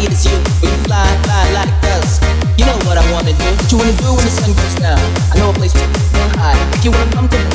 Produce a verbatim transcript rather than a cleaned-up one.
need is you. When you fly, fly like dust. You know what I wanna do. What you wanna do when the sun goes down? I know a place high. If you wanna come to